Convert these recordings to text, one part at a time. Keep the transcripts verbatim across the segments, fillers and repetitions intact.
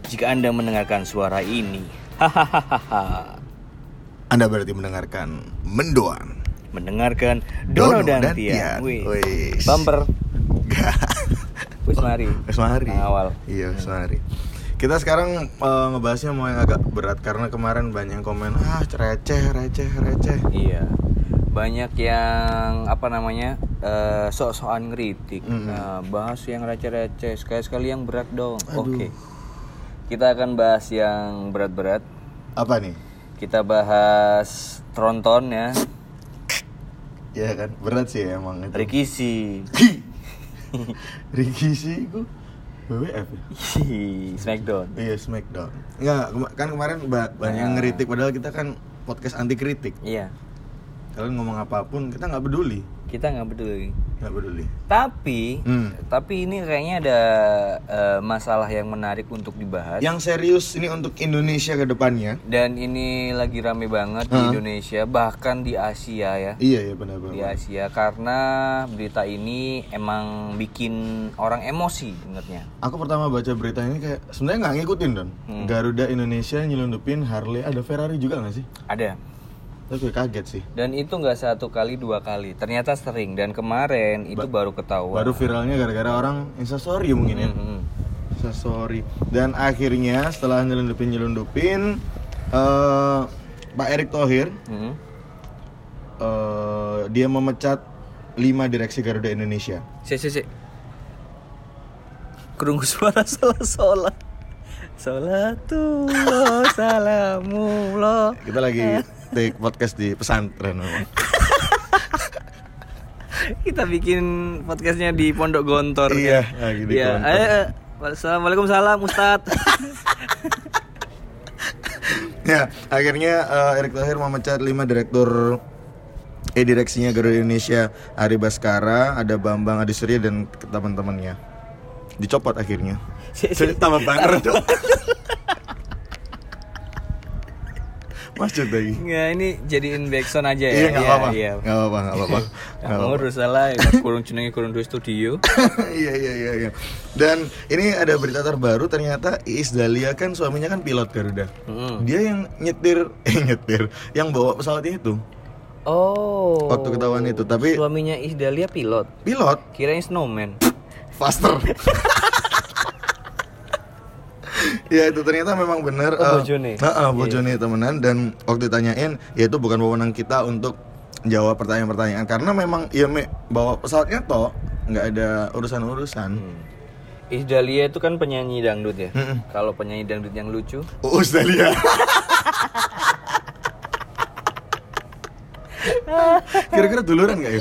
Jika Anda mendengarkan suara ini, hahaha. Anda berarti mendengarkan Mendoan. Mendengarkan Dono, Dono dan, dan Tian. Tian. Wih, Wis. bumper. Gak. Wis mari. Wis mari. Nah, awal. Iya, wis mari. Kita sekarang uh, ngebahasnya mau yang agak berat karena kemarin banyak yang komen ah receh, receh, receh. Iya. Banyak yang apa namanya uh, sok-sokan ngeritik. Mm-hmm. Nah, bahas yang receh-receh, sekali-sekali yang berat dong. Aduh. Oke. Kita akan bahas yang berat-berat. Apa nih? Kita bahas tronton ya. Ya kan, berat sih emang itu. Rikishi. Rikishi itu W W F ya? Smackdown. Iya, Smackdown. Enggak, kema- kan kemarin ba- banyak yang ngeritik padahal kita kan podcast anti kritik. Iya. Kalian ngomong apapun kita nggak peduli, Kita nggak peduli. nggak peduli. Tapi, Hmm. tapi ini kayaknya ada uh, masalah yang menarik untuk dibahas. Yang serius ini untuk Indonesia ke depannya. Dan ini lagi rame banget di Hah? Indonesia, bahkan di Asia ya. Iya ya benar-benar. Di Asia karena berita ini emang bikin orang emosi sebenarnya. Aku pertama baca berita ini kayak sebenarnya nggak ngikutin Don. Hmm. Garuda Indonesia nyelundupin Harley, ada Ferrari juga nggak sih? Ada. Tapi kaget sih. Dan itu nggak satu kali dua kali, ternyata sering. Dan kemarin itu Ba- baru ketahuan. Baru viralnya gara-gara orang instastory mungkin ya. Hmm. Instastory. Dan akhirnya setelah nyelundupin nyelundupin eh Pak Erick Thohir Hmm. eh, dia memecat lima direksi Garuda Indonesia. Si si si. Kerungu suara sholat-sholat. Sholatullah salamullah. Kita lagi take podcast di pesantren memang. Kita bikin podcastnya di Pondok Gontor. Iya, kan? lagi di Iya. Gontor. Eh, eh. Assalamualaikum salam Ustadz. Ya, akhirnya eh, Erick Thohir memecat lima direktur eh direksinya Garuda Indonesia, Ari Baskara, ada Bambang Adisurya dan teman-temannya. Dicopot akhirnya. Jadi tambah banget dong. Maksud lagi. Nggak, ini jadiin backsound aja ya. Iya, nggak apa-apa. Iya. Nggak apa-apa, nggak apa-apa. Nggak ngurus salah, ya, kurung jenenge kurung dua studio. Iya, iya, iya, iya. Dan ini ada berita terbaru, ternyata Iis Dahlia kan suaminya kan pilot Garuda. Mm. Dia yang nyetir, eh nyetir, yang bawa pesawatnya itu. Oh. Waktu ketahuan itu, tapi Suaminya Iis Dahlia pilot. pilot Kirain snowman. faster. Ya itu ternyata memang benar. Oh, bojone. Heeh, bojone temenan, dan waktu ditanyain ya itu bukan wewenang kita untuk jawab pertanyaan-pertanyaan karena memang ya me, bawa pesawatnya toh nggak ada urusan-urusan. Hmm. Iis Dahlia itu kan penyanyi dangdut ya. Mm-mm. Kalau penyanyi dangdut yang lucu, Uus Dahlia. Kira-kira duluran nggak ya?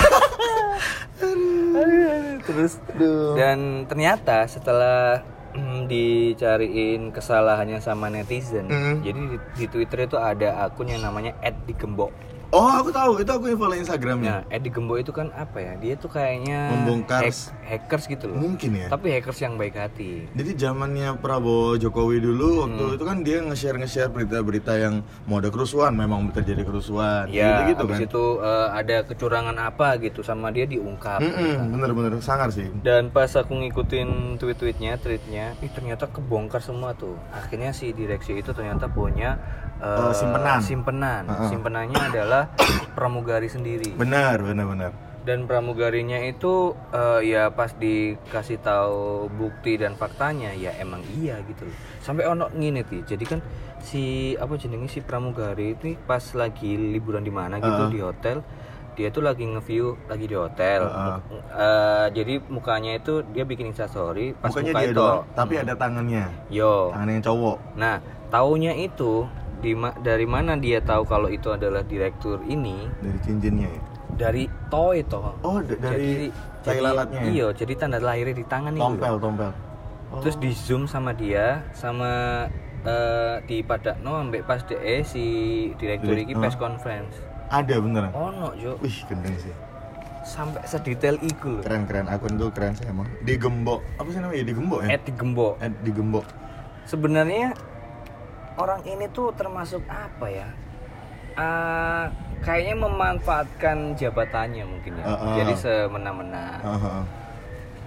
terus dan ternyata setelah mm, dicariin kesalahannya sama netizen, Mm. jadi di, di Twitter itu ada akun yang namanya et digembok. Oh aku tahu, itu aku yang follow Instagramnya. Nah, et digembok itu kan apa ya? Dia tuh kayaknya Membongkar. hack- hackers gitu loh. Mungkin ya. Tapi hackers yang baik hati. Jadi zamannya Prabowo Jokowi dulu waktu Hmm. itu kan dia nge-share nge-share berita-berita yang mau ada kerusuhan, memang terjadi kerusuhan. Ya, gitu habis kan. itu eh, ada kecurangan apa gitu sama dia diungkap. Mm-mm, gitu. bener-bener sangar sih. Dan pas aku ngikutin tweet-tweetnya, tweetnya, ih ternyata kebongkar semua tuh. Akhirnya si direksi itu ternyata punya uh, Uh, simpenan. Simpenan. Uh-uh. Simpenannya adalah pramugari sendiri. Benar, benar-benar. Dan pramugarinya itu uh, ya pas dikasih tahu bukti dan faktanya ya emang iya gitu loh. Sampai ono ngene ti. Jadi kan si apa jenenge si pramugari itu pas lagi liburan di mana gitu Uh-uh. di hotel, dia tuh lagi nge-view lagi di hotel. Uh-uh. Uh, jadi mukanya itu dia bikin instastory pas Mukanya muka dia itu. doang, tapi ada tangannya. Yo. Tangannya yang cowok. Nah, taunya itu di ma- dari mana dia tahu kalau itu adalah direktur ini? Dari cincinnya ya. Dari toy toh. Oh, d- dari tai jadi- lalatnya ya? Iya, jadi tanda lahirnya di tangan itu. Tompel, loh. tompel. Oh. Terus di zoom sama dia sama eh, di padakno ambek pas de si direktur Direk- iki oh. press conference. Ada beneran. Ono, Jo. Wih, gendeng sih. Sampai sedetail iku loh. Keren-keren, akun tuh keren sih emang. Digembok. Apa sih namanya? Digembok ya? Et digembok. Eh, digembok. Sebenarnya orang ini tuh termasuk apa ya? Uh, kayaknya memanfaatkan jabatannya mungkin ya. Uh, uh. Jadi semena-mena. Uh-huh.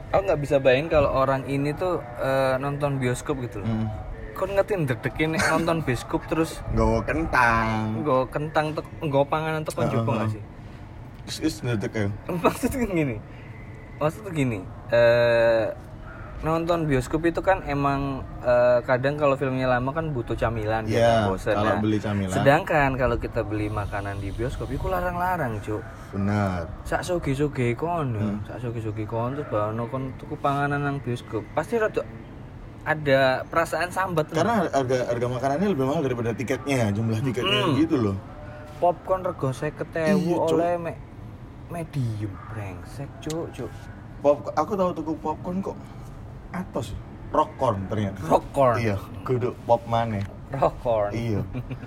aku nggak bisa bayangin kalau orang ini tuh uh, nonton bioskop gitu loh. Hmm. Kon ngerti dedekin nonton bioskop terus nggawa kentang. Nggawa kentang tuh nggawa panganan tuh kon jopo enggak sih? Wis wis ndedek ya. Maksudnya gini. Maksudnya gini, eh nonton bioskop itu kan emang uh, kadang kalau filmnya lama kan butuh camilan yeah, gitu, bosan. Kalau nah, beli camilan. Sedangkan kalau kita beli makanan di bioskop itu larang-larang, Cuk. Benar. Sak soge-soge kon, hmm. sak soge-soge kon terus bawa kon tuku panganan nang bioskop. Pasti rada ada perasaan sambat. Karena harga harga makanannya lebih mahal daripada tiketnya, jumlah tiketnya hmm. gitu loh. Popcorn rego seket ewu oleh me medium brengsek, Cuk, Cuk. Pop aku tahu tuku popcorn kok atos rockcorn ternyata. Rockcorn. Iya, kudu pop maneh. Rockcorn. Iya.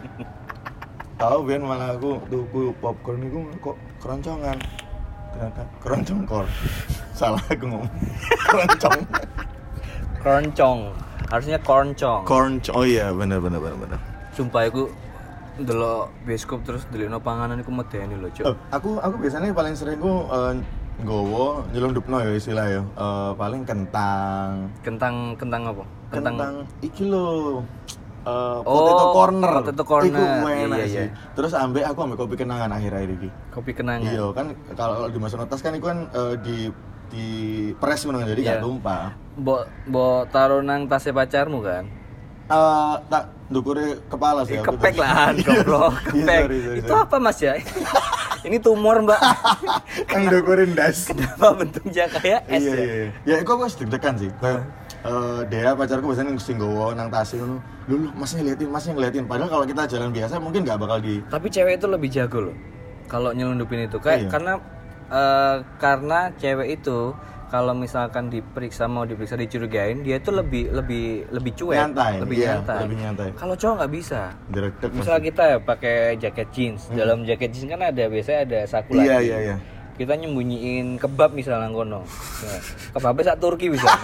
Tahu ben malah aku tuku popcorn iku kok keroncongan. Ternyata keroncong corn. Salah aku ngomong. Keroncong. Keroncong. Harusnya korncong. Korncong. Oh iya, benar benar benar benar. Sumpah aku ndelok bioskop terus ndelokno panganan iku medeni lho, Cuk. Oh, aku aku biasanya paling sering ku uh, nggowo nyelundupno ya istilah ya. Uh, paling kentang. Kentang kentang apa? Kentang, kentang iki lho. Uh, potato oh, corner. Potato corner. Iku enak iya, sih. iya. Terus ambek aku ambek kopi kenangan akhir-akhir iki. Kopi kenangan. Iya, kan kalau dimasukno tas kan iku kan uh, di di press ngono jadi yeah. Gak tumpah. Mbok mbok taruh nang tasnya pacarmu kan? Eh uh, tak ndukure kepala sih. Eh, kepek lah, goblok. Kepek. sorry, sorry, Itu sorry. Apa Mas ya? Ini tumor, Mbak. Kang ndukurin das. Kenapa bentuknya kayak es iya, ya? Iya, iya. Ya iku aku deg-degan sih. Kayak uh, Dea pacarku biasanya sing nggowo nang tas ngono. Lho, Masnya ngeliatin, Masnya ngeliatin. Padahal kalau kita jalan biasa mungkin enggak bakal di. Tapi cewek itu lebih jago loh. Kalau nyelundupin itu kayak iya. karena uh, karena cewek itu kalau misalkan diperiksa mau diperiksa dicurigain dia itu lebih lebih lebih cuek, nyantai, lebih iya, nyantai. Lebih nyantai. Kalau cowok nggak bisa. Direct-direct misal masih. Kita ya pakai jaket jeans, hmm. dalam jaket jeans kan ada biasanya ada saku iya, lagi. Iya iya Kita nyembunyiin kebab misalnya kono. Nah, kebabnya sak Turki misalnya.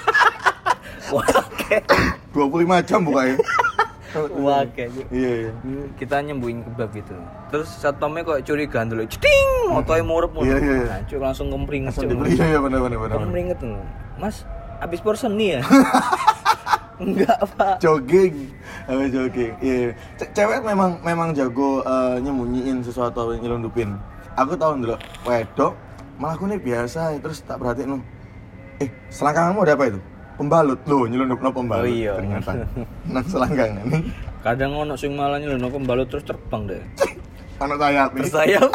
Wah, kayak dua puluh lima jam bukanya. Wah, kayak iya iya. Kita nyembuhin kebab gitu. Terus satpamnya kok curiga dulu. Ceting, motoe murup murup. Iya iya. Nah, cuk langsung kempringet. Iya iya benar benar benar. Kempringet tuh. Mas, habis porsen nih ya? Enggak, Pak. Jogging. Habis jogging. Iya. C- cewek memang memang jago uh, nyembunyiin sesuatu atau nyelundupin. Aku tahu dulu wedok malah aku nih biasa terus tak perhatiin. Eh, selangkanganmu ada apa itu? Pembalut loh, nyelundupno pembalut. Oh iya. Ternyata. Nang selangkangan. Kadang ono sing malah nyelundupno pembalut terus terbang deh. Ono sayap. Bersayap.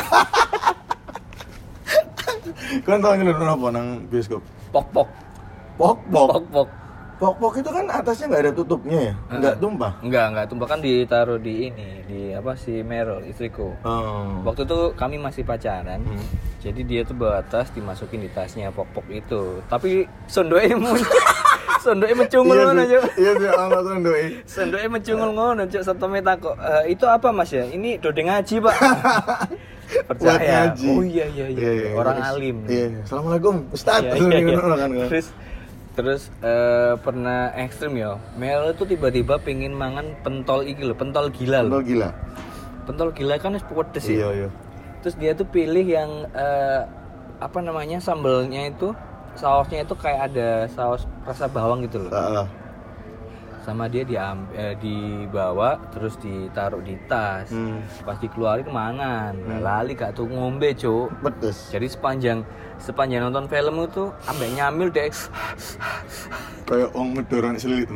Kan tau nyelundupno apa nang bioskop? Pok-pok. Pok-pok. Pok-pok. Pok-pok itu kan atasnya nggak ada tutupnya ya? Nggak uh, tumpah? Nggak, nggak tumpah kan ditaruh di ini, di apa si Meryl, istriku. Oh. Waktu itu kami masih pacaran, hmm. jadi dia tuh bawa tas dimasukin di tasnya pok-pok itu. Tapi sondoke sondoke mencungul ngono, Cuk. Iya sih, ana sondoke. Sondoke mencungul ngono, Cuk. Satpame takok, e, "Itu apa, Mas ya?" "Ini dodeng ngaji, Pak." Percaya. Oh iya iya iya. iya, iya orang terus, alim. Iya, iya. Assalamualaikum, Ustaz. Iya, iya, iya. Kan, terus terus uh, pernah ekstrim ya. Mel itu tiba-tiba pingin mangan pentol iki lho, pentol gila lho. Pentol gila. Pentol gila kan wis pedes ya. Iya, iya. Terus dia tuh pilih yang uh, apa namanya? Sambelnya itu sausnya itu kayak ada saus rasa bawang gitu loh. Uh, uh. Sama dia diam, eh, dibawa terus ditaruh di tas. Hmm. Pas dikeluarin mangan. Hmm. Lali gak tuh ngombe, Cuk. Pedes. Jadi sepanjang sepanjang nonton film itu ambek nyamil deh. Kayak wong medoro nek selilit.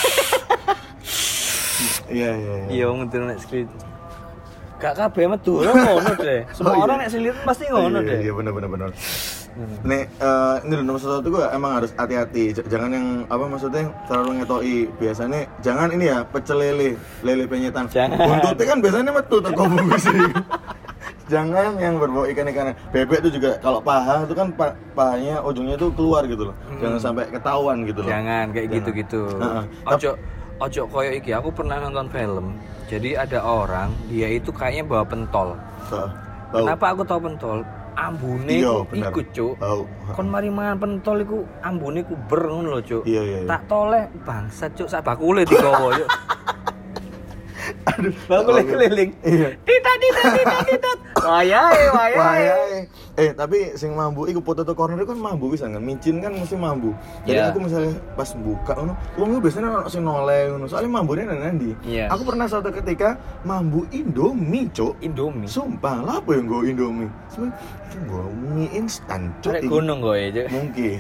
Iya iya iya. Iya wong medoro nek selilit. Gak kabeh medoro ngono deh. Semua oh, iya. Orang nek selilit pasti ngono iya, deh. Iya benar benar benar. Hmm. Nek uh, ini nomor satu gua emang harus hati-hati. Jangan yang apa maksudnya terlalu ngetoki. Biasanya jangan ini ya pecel lele, lele penyetan. Buntutnya kan biasanya metu teko bungkus. Jangan yang berbau ikan-ikanan. Bebek itu juga kalau paha itu kan pa- pahanya ujungnya itu keluar gitu loh. Hmm. Jangan sampai ketahuan gitu loh. Jangan kayak Jangan. gitu-gitu. Uh-huh. Ojo ojo koyo iki. Aku pernah nonton film. Jadi ada orang dia itu kayaknya bawa pentol. Uh, Kenapa aku tahu pentol? Ambune iku iku, Cuk. Kon mari mangan pentol iku ambune ku ber ngono lho, Cuk. Iya, iya, iya. Tak toleh bangsat, Cuk, sak bakule digowo, Cuk. Aduh, bakule keliling. Iya. Tidak, tidak, tidak, tidak. Wayahe, wayahe. Wayahe. Eh, tapi sing mambu iku potato corner kan mambu bisa kan. Micin kan mesti mambu. Jadi Yeah. aku misalnya pas buka ngono, wong biasanya ono sing noleh ngono. Soalnya mambune nang ndi. Yeah. Aku pernah suatu ketika mambu Indomie, Cuk. Indomie. Sumpah, lah apa yang gue Indomie? Sebenarnya itu gue mie instan, Cuk. Arek gunung gue ya, Mungkin.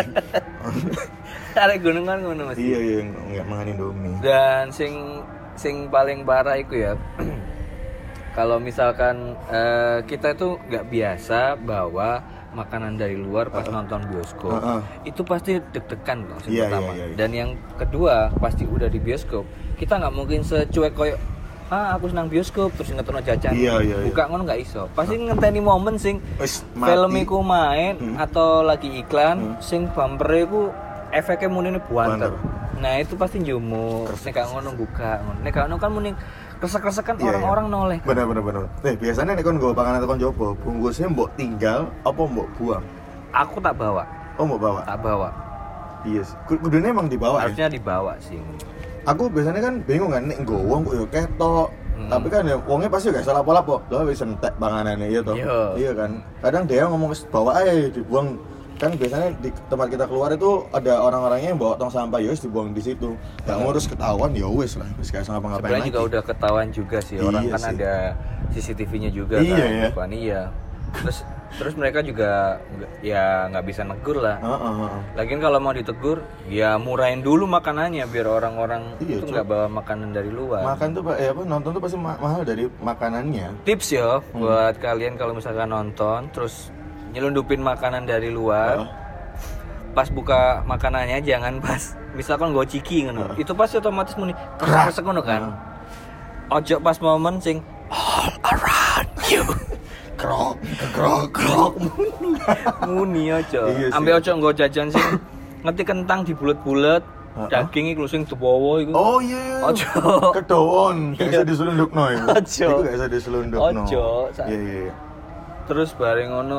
Arek gunung kan ngono Mas. Iya, iya, enggak makan Indomie. Dan sing sing paling parah itu ya. Kalau misalkan uh, kita itu nggak biasa bawa makanan dari luar pas uh, nonton bioskop, uh, uh. itu pasti deg-degan kok yang yeah, pertama. yeah, yeah, yeah. Dan yang kedua pasti udah di bioskop, kita nggak mungkin secuek koyo ah aku senang bioskop terus ngetokno jajan. Iya, iya, iya. Buka ngono nggak iso. Pasti ngenteni momen sing Wis, film mati. iku main Hmm. atau lagi iklan Hmm. sing bumper iku efeknya muni buanter. Buanter. Nah itu pasti njumuk. Nek gak ngono buka ngono. Nek gak ngono kan muni kresek-kresekan Iya, orang-orang iya. noleh. Bener bener bener. Eh biasanya nek kon nggo panganan tekan jopo, bungkusnya mbok tinggal apa mbok buang? Aku tak bawa, Oh mbok bawa. tak bawa. Iya sih. Kudune emang dibawa ya. Harusnya dibawa sih. Aku biasanya kan bingung kan nek nggo wong kok yo ketok. Hmm. Tapi kan ya wongnya pasti gak salah apa-apa. Lah wis entek panganane iya toh. Iya. Iya kan. Kadang dia ngomong wis bawa aja dibuang. Kan biasanya di tempat kita keluar itu ada orang-orangnya yang bawa tong sampah ya wis dibuang di situ. Gak ngurus ketahuan ya wis lah. Wis kayak ngapa-ngapain Sebenarnya lagi. juga udah ketahuan juga sih. Orang Iya kan sih. ada C C T V-nya juga Iya, kan. ya. Depan, iya. Terus terus mereka juga nggak- ya nggak bisa negur lah. Heeh, heeh. Lagian kalau mau ditegur, ya murahin dulu makanannya biar orang-orang Iya, itu Cuk. nggak bawa makanan dari luar. Makan tuh eh apa nonton tuh pasti ma- mahal dari makanannya. Tips ya Hmm. buat kalian kalau misalkan nonton terus nyelundupin makanan dari luar. Heeh. Pas buka makanannya jangan pas misalkan gue ciki ngono. Heeh. Itu pasti otomatis muni keras ngono kan. Ojo pas momen sing all around you. Krok, krok, krok. Muni ojo. Iya sih. Ambil ojo nggo jajan sing ngerti kentang dibulet-bulet, Heeh. daging iku sing tuwa iku. Oh iya, iya. Ojo. Kedowon, gak bisa diselundupno iku. Ojo. Iku gak bisa diselundupno. Ojo, sa- Iya, iya, iya. Terus bareng ngono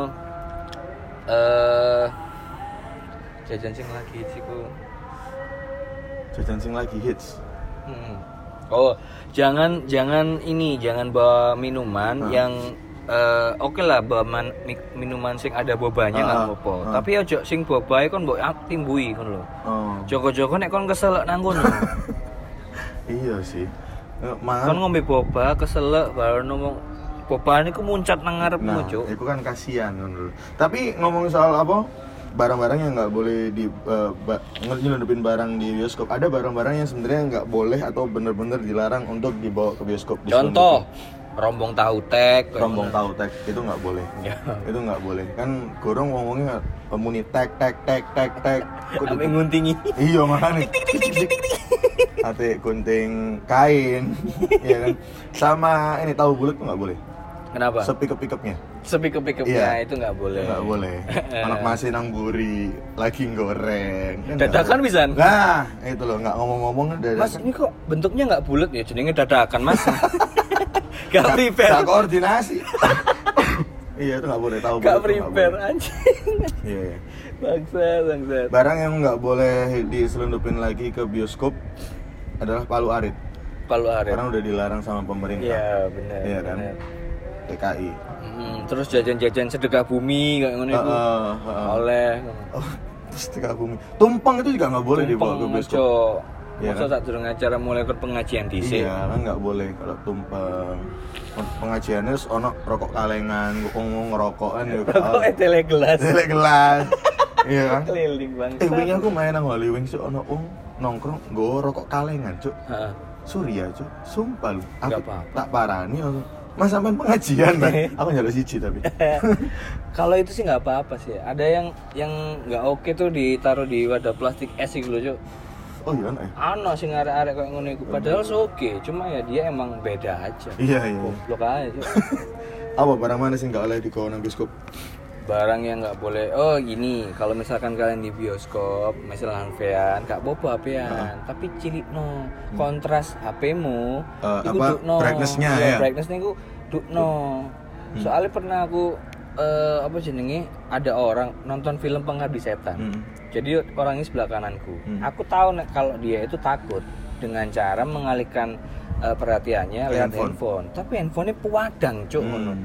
eh jajan sing lagi iku. Jajan sing lagi hits. Hmm. Oh, jangan jangan ini, jangan bawa minuman Hah? yang eh, oke lah bawa man- mi- minuman sing ada bobanya nggak Ah, apa-apa. ah. Tapi ojo sing bobae kon mbok ak- timbui ngono lho. Oh. Joko-joko nek kon keselek nang kono. Iya sih. Eh, Kon Mahal. ngombe boba keselek baru ngomong boba niku muncat nang ngarepmu, Nah, Cuk. itu kan kasihan menurut. Tapi ngomong soal apa? Barang-barang yang nggak boleh di uh, ba- nyelundupin barang di bioskop. Ada barang-barang yang sebenarnya nggak boleh atau bener-bener dilarang untuk dibawa ke bioskop. Contoh, rombong tahu tek, kayak rombong ngono. tahu tek itu nggak boleh. Ya. Itu nggak boleh. Kan gorong ngomongnya muni tek tek tek tek tek. Kudu- Sampai nguntingi. Iya makanya. Ate gunting kain, ya kan. Sama ini tahu bulat tuh nggak boleh. Kenapa? Sepikep-pikepnya. Sepikep-pikepnya Iya. itu nggak boleh. Nggak boleh. Anak masih nang buri, lagi goreng. Kan nggak Dadakan boleh. pisan. Nah, itu loh nggak ngomong-ngomong dadakan. Mas, ini kok bentuknya nggak bulat ya? Jenenge dadakan, Mas. Gak prepare. Nggak koordinasi. Iya itu nggak boleh tahu. Gak bulat tuh nggak prepare boleh. anjing. Iya. iya. Bangsa, bangsa. Barang yang nggak boleh diselundupin lagi ke bioskop adalah palu arit. Palu arit. Karena udah dilarang sama pemerintah. Iya, benar. Iya kan? benar. T K I. Hmm, terus jajan-jajan sedekah bumi kayak ngono itu. Heeh, heeh. Oleh. Oh, terus tiga bumi. Tumpeng itu juga nggak boleh dibawa ke bioskop. Ojo. Iya Masa kan? saat durung acara mulai ke pengajian dhisik. Iya, kan nggak boleh kalau tumpeng. Pengajiannya terus ono rokok kalengan, ngomong ngerokokan ya. Rokok tele gelas. Tele gelas. Iya kan? Keliling bang. Eh, wingi aku main nang Holy Wings ono wong nongkrong nggo rokok kalengan, Cuk. Heeh. Surya, Cuk. Sumpah lu. Aku Nggak apa-apa. tak parani aku. Mas sampean pengajian, Bang. Aku nyaluk siji tapi. Kalau itu sih nggak apa-apa sih. Ada yang yang nggak oke tuh ditaruh di wadah plastik es gitu loh, Cuk. Oh iya, eh. Ano sing arek-arek kayak ngono iku. Padahal oke, cuma ya dia emang beda aja. Iya, iya. Goblok aja, Cuk. Apa barang mana sih nggak boleh dibawa nang bioskop? Barang yang nggak boleh. Oh gini, kalau misalkan kalian di bioskop, misalnya H P-an, gak apa-apa H P-an, tapi cilik no kontras H P-mu, Eh, iku apa, dukno. brightness-nya Iya, ya? brightness-nya iku dukno. Soalnya pernah aku eh, apa jenenge ada orang nonton film Pengabdi Setan. Hmm. Jadi orangnya sebelah kananku. Hmm. Aku tahu nek kalau dia itu takut dengan cara mengalihkan eh, perhatiannya Ke lewat handphone. handphone. Tapi handphonenya pewadang, cuk ngono. Hmm.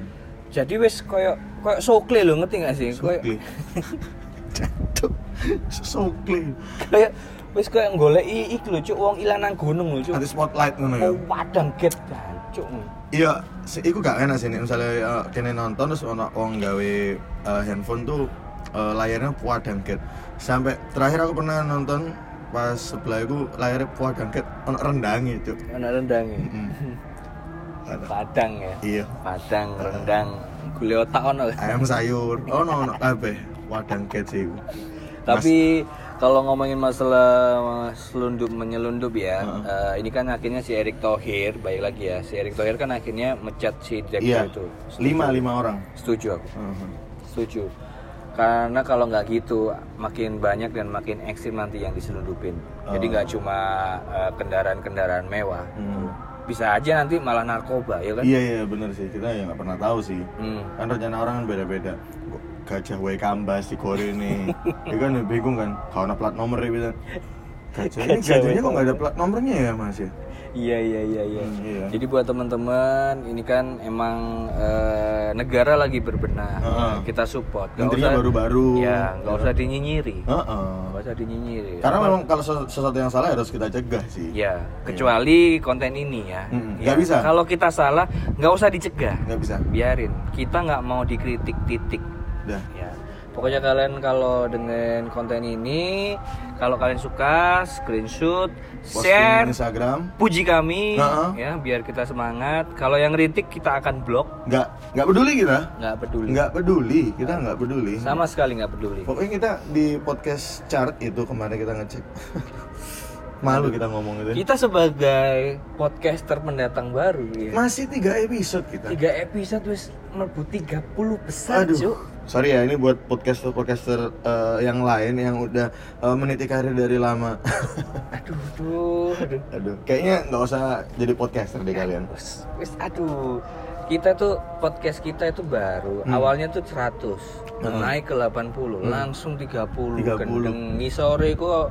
Jadi wis koyo koyo sokle lho, ngerti gak sih? Koyo Sokle. Cacuk. Sokle. kayak wis koyo goleki iki lho, Cuk, wong ilang nang gunung lho, Cuk. Anti spotlight ngono ya. Oh, padang get, Cuk. Iya, si- iku gak enak sih nek misalnya uh, kene nonton terus ono wong gawe uh, handphone tuh uh, layarnya padang get. Sampai terakhir aku pernah nonton pas sebelah iku layarnya padang get ono rendange, Cuk. Ana rendange. Heeh. Padang ya. Iya. Padang, rendang, gule otak ono. Ayam sayur. Ono ono kabeh padang get sih iku. Tapi kalau ngomongin masalah selundup menyelundup ya, Uh-uh. eh, ini kan akhirnya si Erick Thohir, baik lagi ya, si Erick Thohir kan akhirnya mecat si direktur Iya. itu. Lima lima orang. Setuju aku, Heeh. setuju. Karena kalau nggak gitu, makin banyak dan makin ekstrim nanti yang diselundupin. Jadi Oh. nggak cuma eh, kendaraan-kendaraan mewah, Hmm. bisa aja nanti malah narkoba, ya kan? Iya iya bener sih, kita ya nggak pernah tahu sih. Hmm. Kan rencana orang kan beda-beda. Gajah wae kambas di Korea ini. Ya kan bingung kan, kalau ada plat nomor ya bisa. Gajah ini Gajah gajahnya wae kok nggak ada plat nomornya ya Mas ya? Iya iya iya iya. Hmm, iya. Jadi buat teman-teman ini kan emang eh, negara lagi berbenah, Heeh. kita support. Nggak Menterinya usah- baru-baru. Ya nggak usah dinyinyiri, Heeh. nggak usah dinyinyiri. Karena Apa- memang kalau sesu- sesuatu yang salah harus kita cegah sih. ya kecuali konten ini ya. Mm-mm. Ya, Nggak bisa. Kalau kita salah nggak usah dicegah, Nggak bisa. biarin. Kita nggak mau dikritik titik. Udah. Ya. Pokoknya kalian kalau dengan konten ini, kalau kalian suka, screenshot, Posting share, Instagram. puji kami, Heeh. ya biar kita semangat. Kalau yang kritik kita akan blok, Nggak nggak peduli kita. nggak peduli, Nggak peduli. Kita nggak peduli. sama sekali nggak peduli. Pokoknya kita di podcast chart itu kemarin kita ngecek. Malu kita ngomong itu. Kita sebagai podcaster pendatang baru, ya. Masih tiga episode kita. Tiga episode wis mlebu tiga puluh besar, Aduh. Cuk. Sorry ya, ini buat podcaster-podcaster eh, yang lain yang udah eh, meniti karir dari lama. Aduh, aduh, aduh. Aduh, kayaknya nggak usah jadi podcaster deh kalian. Wis, wis, aduh. Kita tuh podcast kita itu baru. Hmm. Awalnya tuh seratus, Hmm. naik ke delapan puluh, Hmm. langsung tiga puluh. tiga puluh. Gendeng ngisore kok.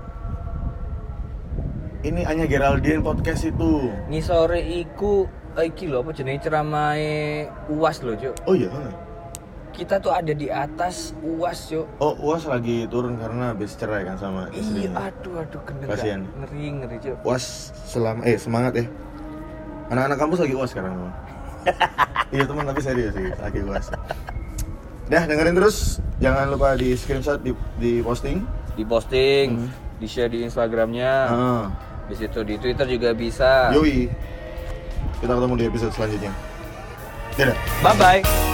Ini hanya Geraldine podcast itu. Ngisore iku eh, iki lho apa jenenge ceramahe U A S lho, Cuk. Oh iya. Kita tuh ada di atas U A S, Cuk. Oh, U A S lagi turun karena habis cerai kan sama Iya, istrinya. aduh aduh gendeng. Kasian. Ngeri ngeri, Cuk. U A S selam eh semangat ya. Anak-anak kampus lagi U A S sekarang teman. Iya teman, tapi serius sih lagi U A S. Dah dengerin terus, jangan lupa di screenshot, di, di posting. Di posting, Hmm. di share di Instagramnya, Ah, di situ di Twitter juga bisa. yoi. Kita ketemu di episode selanjutnya. Dadah. Bye bye.